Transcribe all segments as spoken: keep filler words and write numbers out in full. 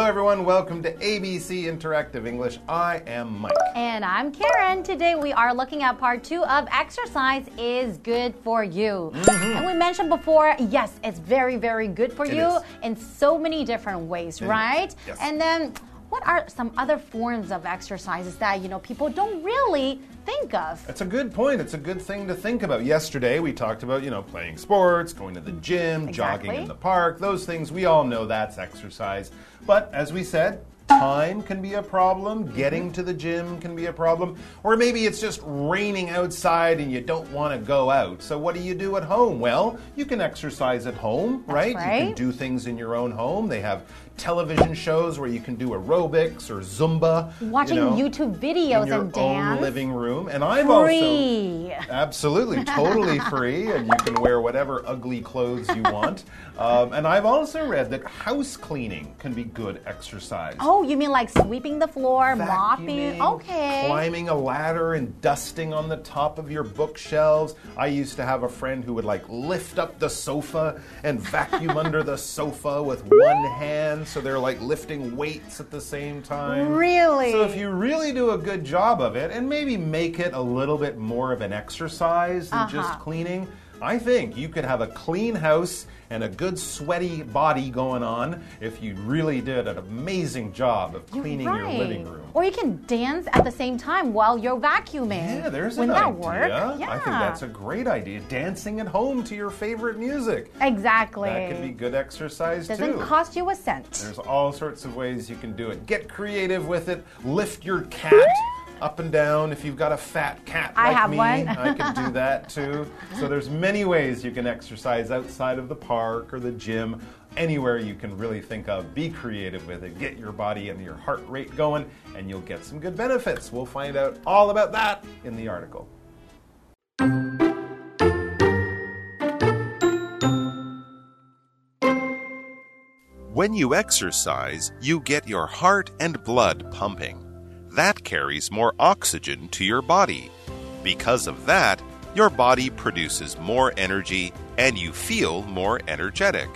everyone. Welcome to A B C Interactive English. I am Mike. And I'm Karen. Today we are looking at part two of exercise is good for you. Mm-hmm. And we mentioned before, yes, it's very, very good for it you is. in so many different ways, it right? Yes. And then what are some other forms of exercises that, you know, people don't really think of? That's a good point. It's a good thing to think about. Yesterday, we talked about, you know, playing sports, going to the gym, Exactly. jogging in the park. Those things, we all know that's exercise. But as we said, time can be a problem. Getting to the gym can be a problem. Or maybe it's just raining outside and you don't want to go out. So what do you do at home? Well, you can exercise at home, right? right? You can do things in your own home. They have television shows where you can do aerobics or Zumba. Watching you know, YouTube videos in your and dance. own living room. And I've Free. also absolutely totally free, and you can wear whatever ugly clothes you want. Um, and I've also read that house cleaning can be good exercise. Oh, you mean like sweeping the floor, mopping? Vacuuming, Okay. Climbing a ladder and dusting on the top of your bookshelves. I used to have a friend who would like lift up the sofa and vacuum under the sofa with one hand. So they're like lifting weights at the same time. Really? So if you really do a good job of it and maybe make it a little bit more of an exercise than Uh-huh. just cleaning, I think you could have a clean house and a good sweaty body going on if you really did an amazing job of cleaning right. your living room. Or you can dance at the same time while you're vacuuming. Yeah, there's Wouldn't an that idea. work? Yeah. I think that's a great idea. Dancing at home to your favorite music. Exactly. That can be good exercise Doesn't too. cost you a cent. There's all sorts of ways you can do it. Get creative with it. Lift your cat up and down. If you've got a fat cat I like have me, one. I can do that too. So there's many ways you can exercise outside of the park or the gym. Anywhere you can really think of. Be creative with it. Get your body and your heart rate going, and you'll get some good benefits. We'll find out all about that in the article. When you exercise, you get your heart and blood pumping. That carries more oxygen to your body. Because of that, your body produces more energy and you feel more energetic.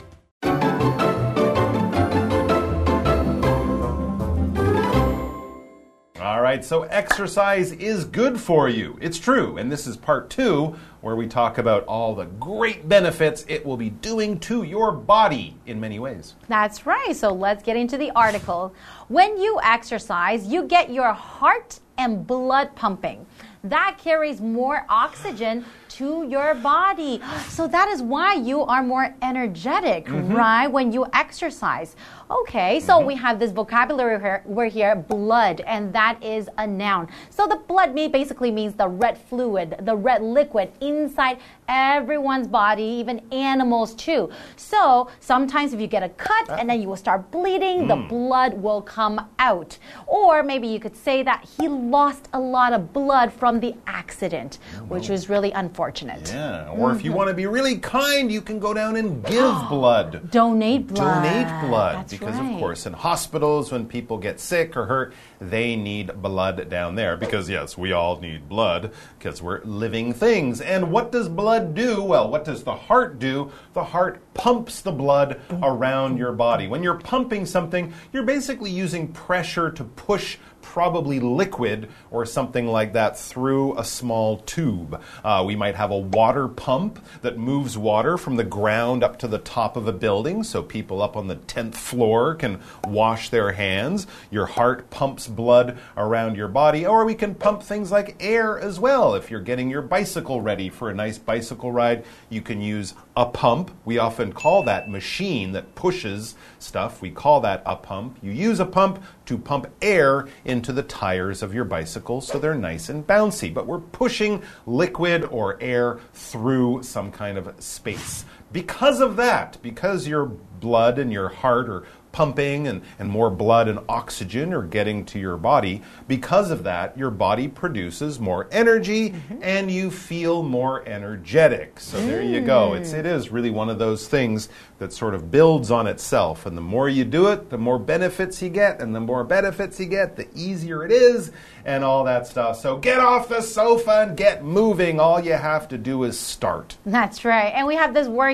All right, so exercise is good for you. It's true. And this is part two, where we talk about all the great benefits it will be doing to your body in many ways. That's right. So let's get into the article. When you exercise, you get your heart and blood pumping. That carries more oxygen to your body. So that is why you are more energetic, mm-hmm. right? When you exercise. Okay, so mm-hmm. we have this vocabulary here, we're here, blood, and that is a noun. So the blood basically means the red fluid, the red liquid inside everyone's body, even animals too. So sometimes if you get a cut and then you will start bleeding, mm. the blood will come out. Or maybe you could say that he lost a lot of blood from the accident, oh, which was really unfortunate. Yeah, or mm-hmm. if you want to be really kind, you can go down and give blood. Donate blood. Donate blood. That's because, right. of course, in hospitals, when people get sick or hurt, they need blood down there. Because, yes, we all need blood because we're living things. And what does blood do? Well, what does the heart do? The heart pumps the blood around your body. When you're pumping something, you're basically using pressure to push probably liquid or something like that through a small tube. Uh, we might have a water pump that moves water from the ground up to the top of a building so people up on the tenth floor can wash their hands. Your heart pumps blood around your body. Or we can pump things like air as well. If you're getting your bicycle ready for a nice bicycle ride, you can use a pump. We often call that machine that pushes stuff. We call that a pump. You use a pump to pump air into the tires of your bicycle so they're nice and bouncy. But we're pushing liquid or air through some kind of space. Because of that, because your blood and your heart are pumping and, and more blood and oxygen are getting to your body, because of that, your body produces more energy mm-hmm. and you feel more energetic. So mm. there you go. It's, it is really one of those things that sort of builds on itself. And the more you do it, the more benefits you get. And the more benefits you get, the easier it is and all that stuff. So get off the sofa and get moving. All you have to do is start. That's right. And we have this word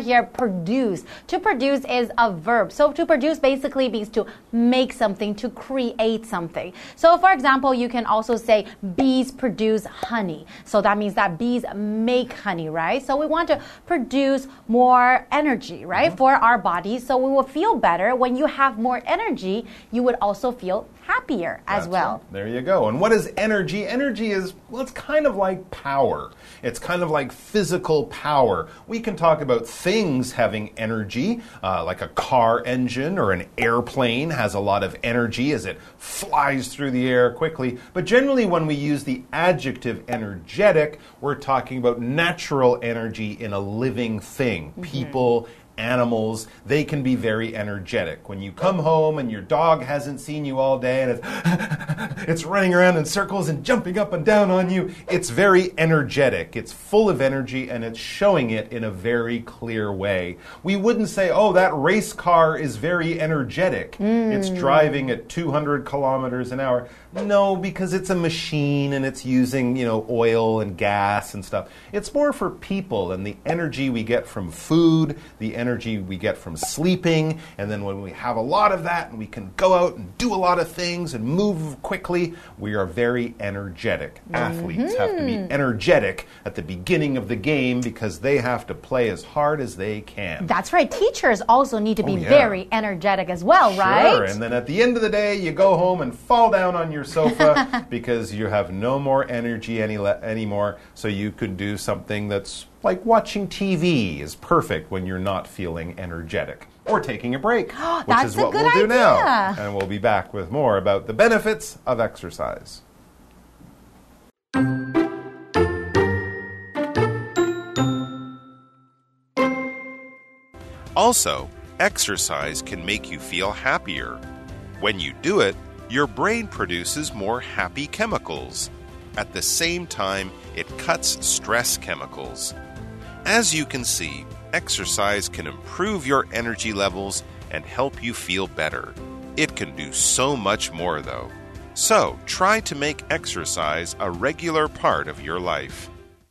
here, produce. To produce is a verb. So to produce basically means to make something, to create something. So for example, you can also say bees produce honey. So that means that bees make honey, right? So we want to produce more energy, right, mm-hmm. for our bodies. So we will feel better. When you have more energy, you would also feel happier as That's well. Right. There you go. And what is energy? Energy is, well, it's kind of like power. It's kind of like physical power. We can talk about things having energy, uh, like a car engine or an airplane has a lot of energy as it flies through the air quickly. But generally, when we use the adjective energetic, we're talking about natural energy in a living thing. Mm-hmm. People, animals, they can be very energetic. When you come home and your dog hasn't seen you all day and it's, it's running around in circles and jumping up and down on you, it's very energetic. It's full of energy and it's showing it in a very clear way. We wouldn't say, oh, that race car is very energetic. Mm. It's driving at two hundred kilometers an hour. No, because it's a machine and it's using, you know, oil and gas and stuff. It's more for people and the energy we get from food, the energy we get from sleeping, and then when we have a lot of that and we can go out and do a lot of things and move quickly, we are very energetic. Mm-hmm. Athletes have to be energetic at the beginning of the game because they have to play as hard as they can. That's right. Teachers also need to be oh, yeah. very energetic as well, sure. right? Sure. And then at the end of the day, you go home and fall down on your sofa because you have no more energy any le- anymore, so you could do something that's like watching T V is perfect when you're not feeling energetic. Or taking a break, which That's is what a good we'll do idea. now. And we'll be back with more about the benefits of exercise. Also, exercise can make you feel happier. When you do it, your brain produces more happy chemicals. At the same time, it cuts stress chemicals. As you can see, exercise can improve your energy levels and help you feel better. It can do so much more, though. So, try to make exercise a regular part of your life.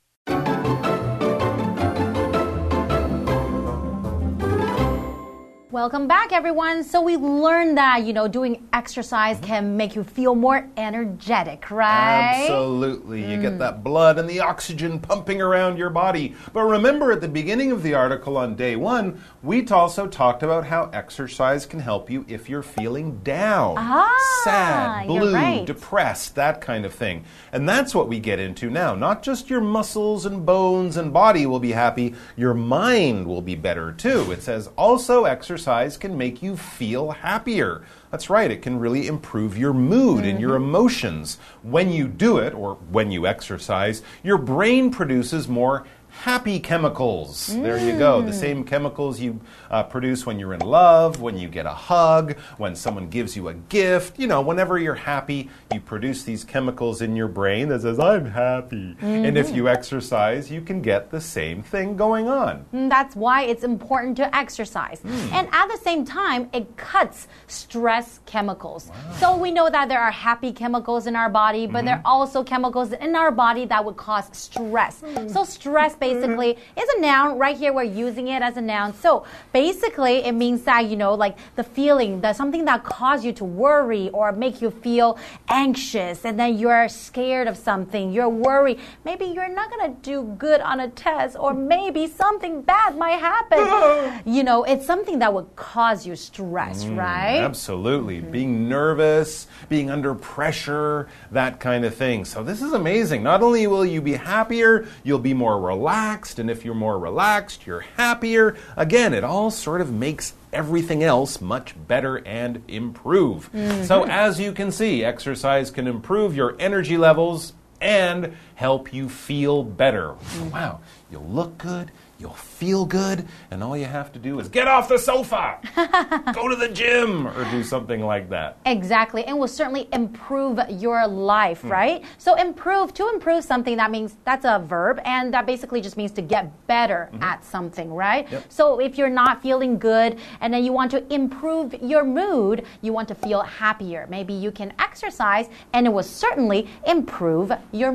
Welcome back, everyone. So we learned that, you know, doing exercise can make you feel more energetic, right? Absolutely. You mm. get that blood and the oxygen pumping around your body. But remember, at the beginning of the article on day one, we also talked about how exercise can help you if you're feeling down, ah, sad, blue, right. depressed, that kind of thing. And that's what we get into now. Not just your muscles and bones and body will be happy, your mind will be better too. It says also exercise can make you feel happier. That's right, it can really improve your mood mm-hmm. and your emotions. When you do it, or when you exercise, your brain produces more happy chemicals. Mm. There you go. The same chemicals you uh, produce when you're in love, when you get a hug, when someone gives you a gift. You know, whenever you're happy, you produce these chemicals in your brain that says, I'm happy. Mm-hmm. And if you exercise, you can get the same thing going on. That's why it's important to exercise. Mm. And at the same time, it cuts stress chemicals. Wow. So we know that there are happy chemicals in our body, but mm-hmm. there are also chemicals in our body that would cause stress. Mm. So stress basically is a noun. Right here, we're using it as a noun. So basically, it means that, you know, like the feeling, that something that causes you to worry or make you feel anxious, and then you're scared of something, you're worried. Maybe you're not going to do good on a test, or maybe something bad might happen. You know, it's something that would cause you stress, mm, right? Absolutely. Mm-hmm. Being nervous, being under pressure, that kind of thing. So this is amazing. Not only will you be happier, you'll be more relaxed. And if you're more relaxed, you're happier. Again, it all sort of makes everything else much better and improve. Mm-hmm. So as you can see, exercise can improve your energy levels and help you feel better. Mm-hmm. Wow, you'll look good, you'll feel good, and all you have to do is get off the sofa, go to the gym, or do something like that. Exactly, and will certainly improve your life, mm. right? So improve, to improve something, that means that's a verb, and that basically just means to get better mm-hmm. at something, right? Yep. So if you're not feeling good, and then you want to improve your mood, you want to feel happier. Maybe you can exercise, and it will certainly improve your mood.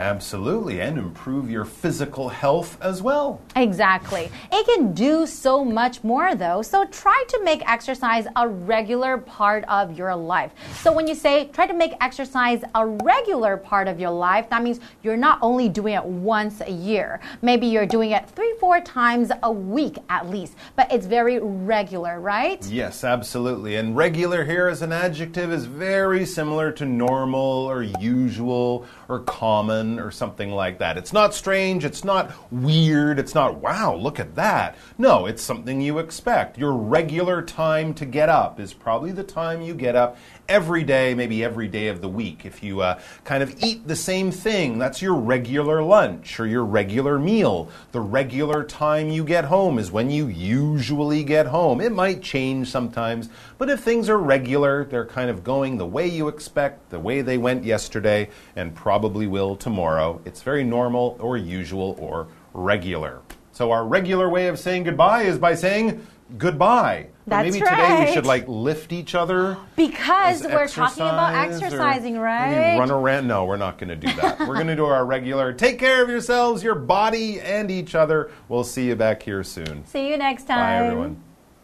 Absolutely, and improve your physical health as well. Exactly. It can do so much more though, so try to make exercise a regular part of your life. So when you say try to make exercise a regular part of your life, that means you're not only doing it once a year. Maybe you're doing it three, four times a week at least, but it's very regular, right? Yes, absolutely. And regular here as an adjective is very similar to normal or usual or common or something like that. It's not strange, it's not weird, it's not, wow, look at that. No, it's something you expect. Your regular time to get up is probably the time you get up every day, maybe every day of the week. If you uh, kind of eat the same thing, that's your regular lunch or your regular meal. The regular time you get home is when you usually get home. It might change sometimes, but if things are regular, they're kind of going the way you expect, the way they went yesterday, and probably will tomorrow. It's very normal or usual or regular. So our regular way of saying goodbye is by saying goodbye. That's maybe right. today we should like lift each other. Because we're exercise, talking about exercising, right? Run around. No, we're not going to do that. We're going to do our regular take care of yourselves, your body, and each other. We'll see you back here soon. See you next time. Bye, everyone.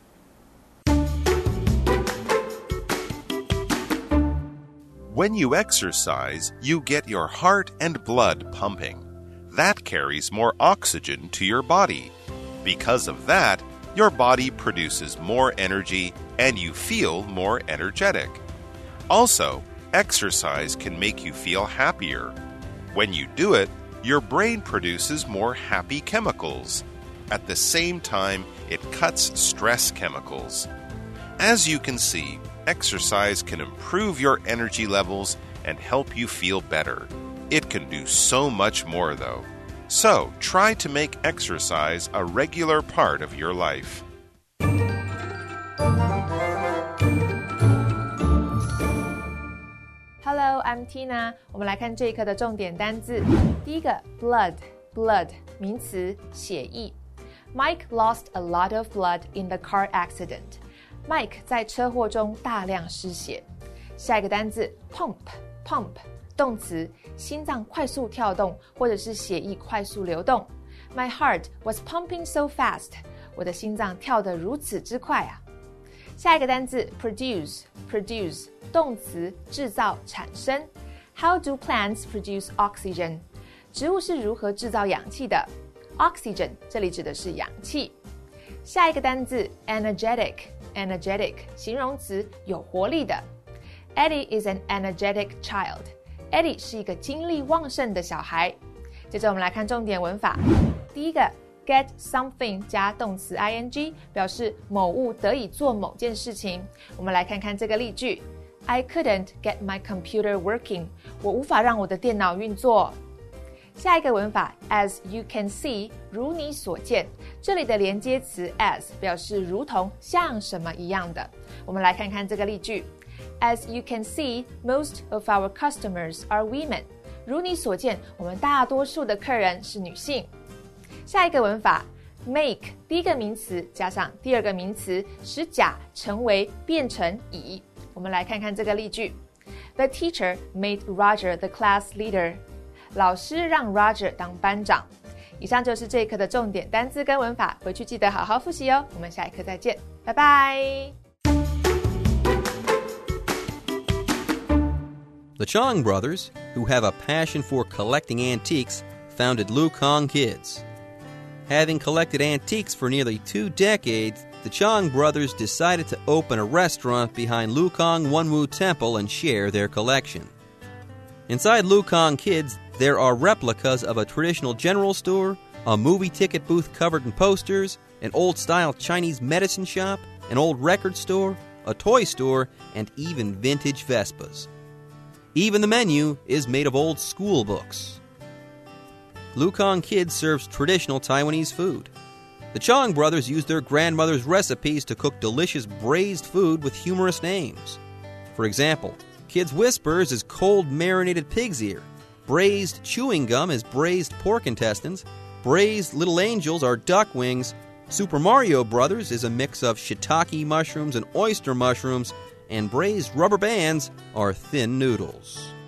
When you exercise, you get your heart and blood pumping. That carries more oxygen to your body. Because of that, your body produces more energy and you feel more energetic. Also, exercise can make you feel happier. When you do it, your brain produces more happy chemicals. At the same time, it cuts stress chemicals. As you can see, exercise can improve your energy levels and help you feel better. It can do so much more, though. So, try to make exercise a regular part of your life. Hello, I'm Tina. 我们来看这一课的重点单字。第一个 blood, blood 名詞，血液。Mike lost a lot of blood in the car accident. Mike 在車禍中大量失血。下一個單字 pump, pump 動詞，心臟快速跳動或者是血液快速流動。My heart was pumping so fast. 我的心臟跳得如此之快啊。下一個單字 produce, produce 動詞，製造、產生。How do plants produce oxygen? 植物是如何製造氧氣的？ Oxygen 這裡指的是氧氣。下一個單字 energetic, energetic 形容詞，有活力的。Eddie is an energetic child. Eddie 是一個精力旺盛的小孩。接着我們來看重點文法。第一個 get something 加動詞 ing 表示某物得以做某件事情。我們來看看這個例句。I couldn't get my computer working. 我無法讓我的電腦運作。下一個文法 as you can see 如你所見，這裡的連接詞 as 表示如同像什麼一樣的。我們來看看這個例句。As you can see, most of our customers are women. 如你所見，我們大多數的客人是女性。下一個文法 make 第一個名詞加上第二個名詞，使甲成為變成乙。我們來看看這個例句。The teacher made Roger the class leader. 老師讓 Roger 當班長。以上就是這一課的重點單字跟文法，回去記得好好複習哦。我們下一課再見，拜拜。 The Chong brothers, who have a passion for collecting antiques, founded Lukong Kids. Having collected antiques for nearly two decades, the Chong brothers decided to open a restaurant behind Lukong Wunwu Temple and share their collection. Inside Lukong Kids, there are replicas of a traditional general store, a movie ticket booth covered in posters, an old-style Chinese medicine shop, an old record store, a toy store, and even vintage Vespas. Even the menu is made of old school books. Lukong Kids serves traditional Taiwanese food. The Chong brothers used their grandmother's recipes to cook delicious braised food with humorous names. For example, Kids Whispers is cold marinated pig's ear. Braised chewing gum is braised pork intestines. Braised little angels are duck wings. Super Mario Brothers is a mix of shiitake mushrooms and oyster mushrooms. And braised rubber bands are thin noodles.